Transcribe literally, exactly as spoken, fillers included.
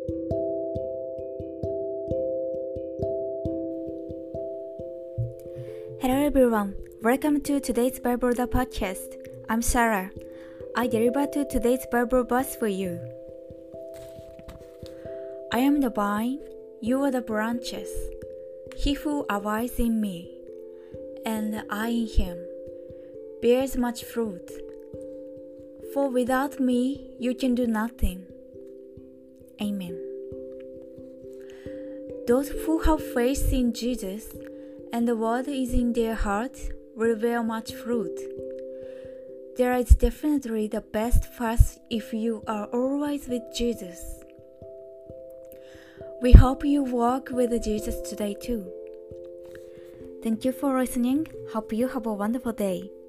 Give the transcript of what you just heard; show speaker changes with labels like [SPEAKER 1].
[SPEAKER 1] Hello everyone, welcome to today's Bible the podcast. I'm Sarah. I deliver to today's Bible verse for you. I am the vine, you are the branches. He who abides in me, and I in him, bears much fruit. For without me you can do nothing. Amen. Those who have faith in Jesus and the word is in their heart will bear much fruit. There is definitely the best path if you are always with Jesus. We hope you walk with Jesus today too. Thank you for listening. Hope you have a wonderful day.